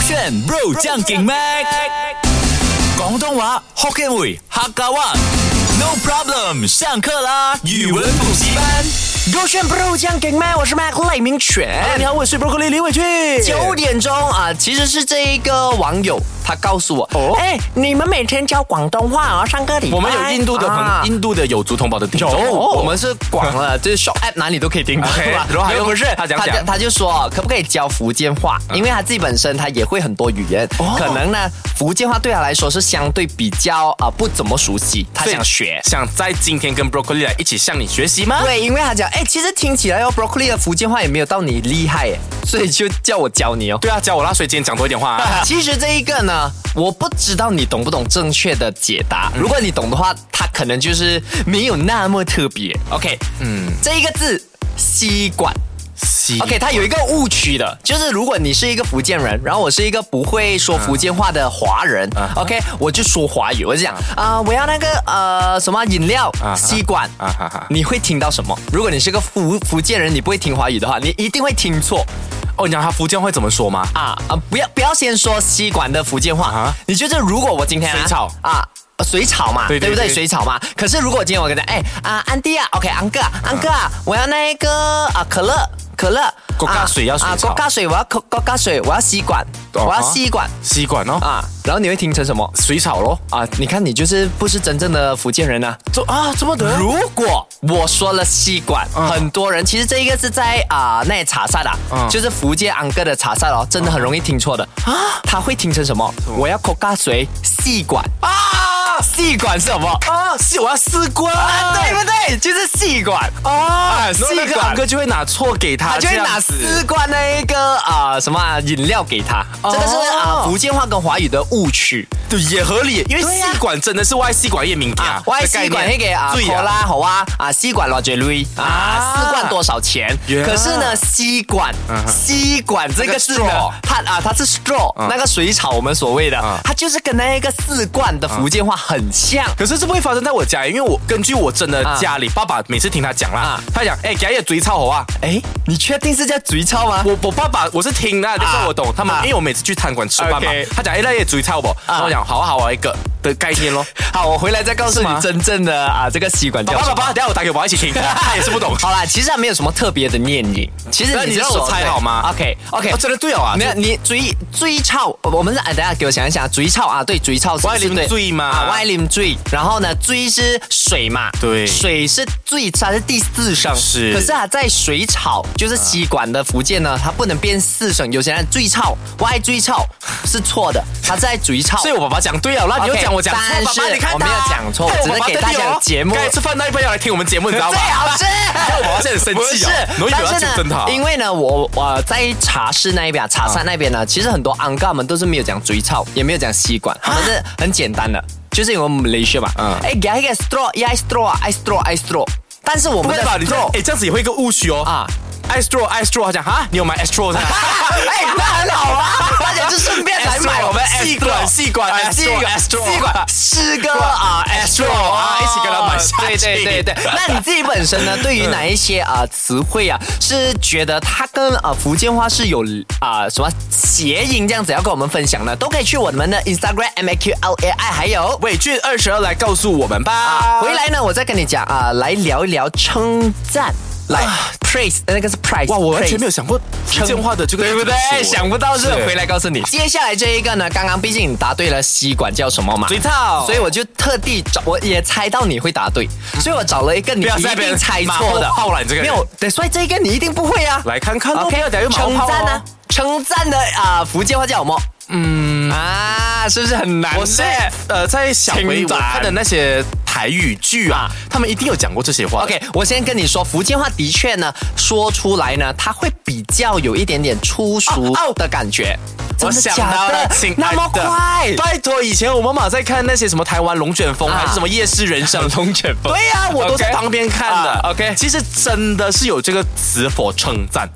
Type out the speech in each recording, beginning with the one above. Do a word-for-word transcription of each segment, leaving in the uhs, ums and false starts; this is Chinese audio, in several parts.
炫 bro 將勁 mac 廣東話 Hokkien 會客家話 No problem 上課啦語文補習班勾选 bro 酱给麦，我是 Mac 赖明全。 你好，我是 Broccoli 李伟俊。 九点钟啊，其实是这一个网友他告诉我，哦，哎，你们每天教广东话哦，上个礼拜。 我们有印度的朋、啊、印度的有族同胞的听众， 有，我们是广了，就是 Shop App 哪里都可以听到，对吧？然后还有不是他讲讲，他就说可不可以教福建话，因为他自己本身他也会很多语言，哦、可能呢福建话对他来说是相对比较啊、呃、不怎么熟悉，他想学， 想在今天跟 Broccoli 来一起向你学习吗？ 对，因为他讲。哎，其实听起来哦 ，Broccoli 的福建话也没有到你厉害耶，所以就叫我教你哦。 对啊，教我啦，所以今天讲多一点话、啊。 其实这一个呢，我不知道你懂不懂正确的解答。如果你懂的话，它可能就是没有那么特别。OK， 嗯，这一个字吸管。OK， 它有一个误区的，就是如果你是一个福建人，然后我是一个不会说福建话的华人、uh huh. ，OK， 我就说华语，我就讲啊、呃，我要那个呃什么饮料、uh huh. 吸管， uh huh. 你会听到什么？如果你是个福福建人，你不会听华语的话，你一定会听错。 哦，你讲他福建会怎么说吗？ 啊啊，不要不要先说吸管的福建话， uh huh. 你觉得如果我今天、啊、 水草啊。水草嘛， 对对对对不对？水草嘛。可是如果今天我跟他，哎啊，安迪啊 ，OK， 安哥啊，安哥啊，我要那个啊可乐，可乐， 国家水要水草， 啊，国家水我要国家水，我要吸管，哦、我要吸管， 吸管哦啊，然后你会听成什么？ 水草咯啊，你看你就是不是真正的福建人啊？ 这啊这么的？ 如果我说了吸管，嗯、很多人其实这一个是在啊、呃、那茶室啊，嗯、就是福建安哥的茶室哦，真的很容易听错的啊，他会听成什么？我要国家水吸管啊。吸管是什么啊？是我要吸管、 啊，对不对？就是吸管啊，吸管哥就会拿错给他， 他就会拿吸管那一个啊、呃、什么饮、啊、料给他，哦、这个是啊、呃、福建话跟华语的误区， 对，也合理，因为吸管真的是外吸管业名啊， 外吸管那个啊，好啦好啊啊吸管多少钱啊，吸管多少钱？可是呢，吸管吸管这个字呢，它啊它是 straw 那个水草我们所谓的，它就是跟那个四罐的福建话很像， 可是这不会发生在我家，因为我根据我真的家里，啊、爸爸每次听他讲啦，啊、他讲，哎，给他嘴草好啊， 哎，你确定是叫嘴草吗？ 我我爸爸我是听啦，但是我懂他们，啊、因为我每次去餐馆吃饭嘛， okay. 他讲，哎，那也嘴草不？然后我讲，好啊好啊一个的概念咯。 好，我回来再告诉你真正的啊这个吸管叫什么。 爸爸爸，等下我打给我爸一起听，他也是不懂。 好啦，其实还没有什么特别的念音，其实你让我猜好吗 ？OK OK， 哦、真的对哦啊， 没有你嘴嘴草，我们是哎，等下给我想一想，嘴草啊，对，嘴草是外林嘴嘛， 啊，外林嘴。然后呢，追是水嘛， 对， 水是最，它是第四声， 是。 可是它在水草，就是吸管的福建呢，它不能变四声。有些人追草，外追草是错的，它在追草。 所以我爸爸讲对了，那你又讲我讲错， 但是我没有讲错，只是给大家节目。 刚才吃饭那一半要来听我们节目，你知道吗？ 最好吃。 我爸爸现在很生气啊， 但是呢，因为呢，我我在茶室那一边，茶山那边呢，其实很多安哥们都是没有讲追草，也没有讲吸管，他们是很简单的。就是因为我们雷学嘛，嗯，哎，给一个 straw， 一 straw， I straw， I straw， 但是我们的 straw， 哎，这样子也会一个误区哦啊 ，I straw， I straw， 他讲哈，你有买 straw 的？ 哎，那很好啊，大家就顺便来买我们吸管，吸管， 吸管，吸管，四个啊 straw 啊，一起跟他买下去。对对对对，那你自己本身呢，对于哪一些啊词汇啊，是觉得它跟啊福建话是有啊什么谐音这样子要跟我们分享呢？都可以去我们的 Instagram M A Q L A I 还有伟俊二十二来告诉我们吧。 啊、回来呢，我再跟你讲啊，来聊一聊称赞。来、啊、praise 那个是 price， 哇，我完全没有想过福建话的这个， 对不对？想不到是回来告诉你。接下来这一个呢，刚刚毕竟你答对了吸管叫什么嘛？ 嘴草， 所以我就特地找，我也猜到你会答对，所以我找了一个你一定猜错的。 好了，你这个没有，对，所以这一个你一定不会啊。 来看看 ，OK， 称赞呢？称赞的啊、呃，福建话叫什么？嗯啊，是不是很难？ 我是呃，在小维我看的那些台语剧啊，他们一定有讲过这些话。 OK， 我先跟你说，福建话的确呢，说出来呢，它会比较有一点点粗俗的感觉。 我想到了， 那么快， 拜托！以前我妈妈在看那些什么台湾龙卷风，还是什么夜市人生龙卷风， 对呀，我都在旁边看的。 OK， 其实真的是有这个词for称赞。 OK，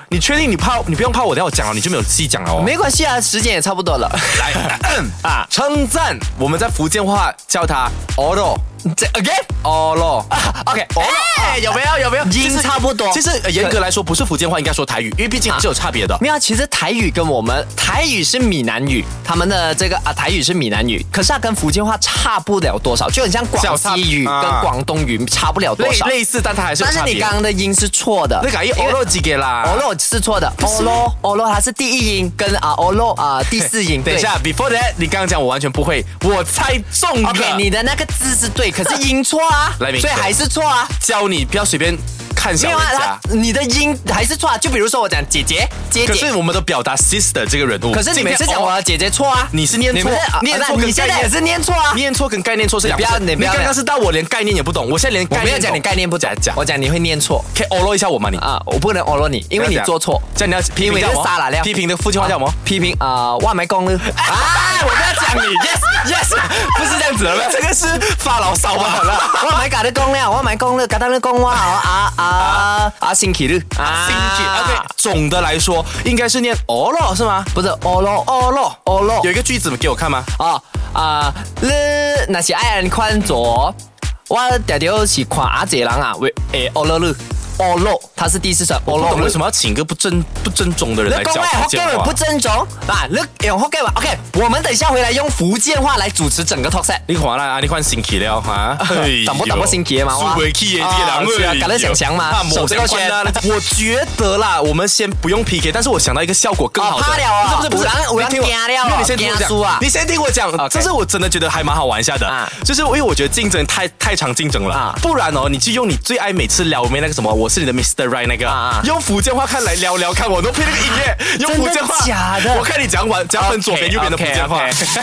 你确定你怕你不用怕我等下我讲了你就没有细讲了哦？ 没关系啊，时间也差不多了。 来啊，称赞我们在福建话叫它 oro。 这 again 哦咯 ，OK， 哎，有没有有没有音差不多？ 其实呃严格来说不是福建话，应该说台语，因为毕竟还是有差别的。 没有，其实台语跟我们台语是闽南语，他们的这个啊台语是闽南语，可是它跟福建话差不了多少，就很像广西语跟广东语差不了多少， 类似，但它还是有差别。 但是你刚刚的音是错的， 那个一 oro 几个啦 ，oro 是错的 ，oro oro 它是第一音，跟啊 oro 啊第四音。 等一下 ，before that， 你刚刚讲我完全不会，我猜中了。 OK， 你的那个字是对，可是音错。啊，所以还是错啊！ 教你不要随便看小人家， 啊、你的音还是错啊。就比如说我讲姐姐，姐姐， 可是我们都表达 sister 这个人物， 可是你每次讲我的姐姐错啊， 你是念错， 念错，你现在也是念错啊， 念错跟概念错是两回事。你刚刚是到我连概念也不懂，我现在连概念我没有讲你概念不讲讲，我讲你会念错， 可以欧罗一下我吗你？ 啊，我不能欧罗你，因为你做错， 这样你要批评叫啥了？ 批评的福建话叫什么？ 批评啊，万没功了啊！我不要讲你 ，yes yes， 不是这样子的， 这个是发牢骚吧？好了， 我买搞的功了，我买功了，搞到那功哇啊啊啊！星期日啊，星期 OK。总的来说，应该是念哦咯是吗？ 不是哦咯哦咯哦咯。 有一个句子给我看吗？ 啊啊，你那是爱人看左，我常常是看阿姐人啊，为诶哦咯了。哦咯，它是第四声。 我不懂为什么要请个不正不正宗的人来教福建话？ 不正宗啊！你用福建话 ，OK， 我们等一下回来用福建话来主持整个 talk set。 你看啦，啊，你看星期了哈， 等不等不星期嘛？ 输回去的啲人， 搞得想想嘛， 手这个圈啊！我觉得啦，我们先不用 P K， 但是我想到一个效果更好的。 怕了啊！ 不是不是不是， 我听我，因为你先听我讲，你先听我讲，这是我真的觉得还蛮好玩一下的，就是因为我觉得竞争太太常竞争了，不然哦，你就用你最爱每次聊没那个什么，我是你的 Mister Right。那个、啊、用福建话看来聊聊看，我都配那个音乐，用福建话假的。 我看你讲完，讲分左边右边的福建话。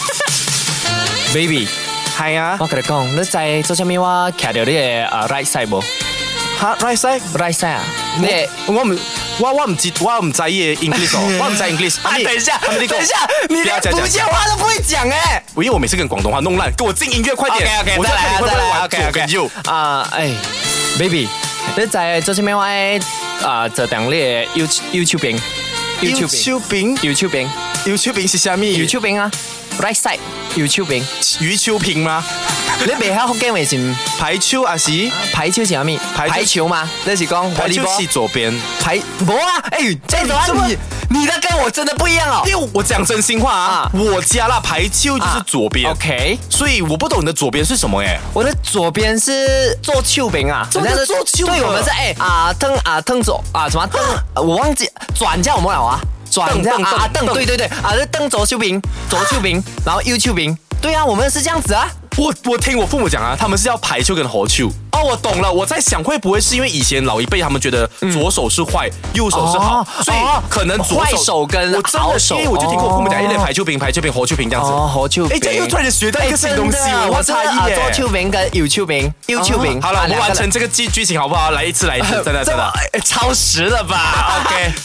Baby， 係啊， 我跟你講，你在做啥物？我徛到你嘅啊 right side 無？ 哈 right side right side 啊？你我唔我我唔知我唔在意 English 哦，我唔在 English。 啊，等一下，等一下，你連福建話都不會講哎！ 因為我每次跟廣東話弄爛，給我進音樂快點。 OK OK， 我再來再來 OK OK。 啊，哎 ，Baby。你在做啥物？我啊，做當你嘅 YouTube YouTube 邊 YouTube 邊 YouTube 邊 YouTube 邊是啥物 ？YouTube 邊啊 ，right side YouTube 邊魚球邊嗎？ 你未曉福建話是排球還是排球是啥物？排球嗎？你是講排球是左邊排冇啊？哎，這樣子你你的跟我真的不一樣哦。 因為我講真心話啊，我家啦排球就是左邊 ，OK， 所以我不懂你的左邊是什麼誒。 我的左邊是做球邊啊， 做做球。 對，我們是哎啊蹬啊蹬左啊什麼蹬？我忘記轉叫我們了啊，轉叫啊蹬，對對對啊，是蹬左球邊，左球邊，然後右球邊。對啊，我們是這樣子啊。 我我聽我父母講啊，他們是要排球跟合球。哦，我懂了。我在想，會不會是因為以前老一輩他們覺得左手是壞，右手是好，所以可能左壞手跟好手。 因為我就聽過我父母講，一類排球餅、排球餅、合球餅這樣子。 哦，合球餅。 哎，這又突然學到一個新東西，我差異耶。 左球餅跟右球餅，右球餅。 好了，我們完成這個劇劇情好不好？來一次，來一次，真的真的， 超時了吧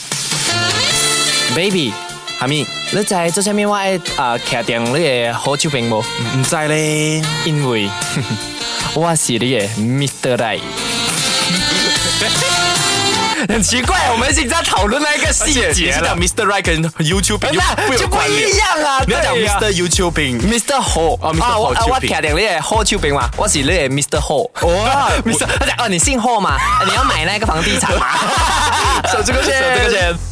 ？OK，Baby。 哈咪， 你知做啥物？我愛啊，徛定你嘅好手邊無？ 唔知咧， 因為我是你嘅 Mister Right。很奇怪，我們現在討論那個細節了。 Mister Right 跟 YouTube 不就不一樣啊？ 你要講 Mister YouTube 餅 ，Mister Ho 啊，我我徛定你嘅好手邊嘛，我是你嘅 Mister Ho。哦，Mister，他講哦，你姓霍嘛？你要買那個房地產嘛？ 手這個錢，手這個錢。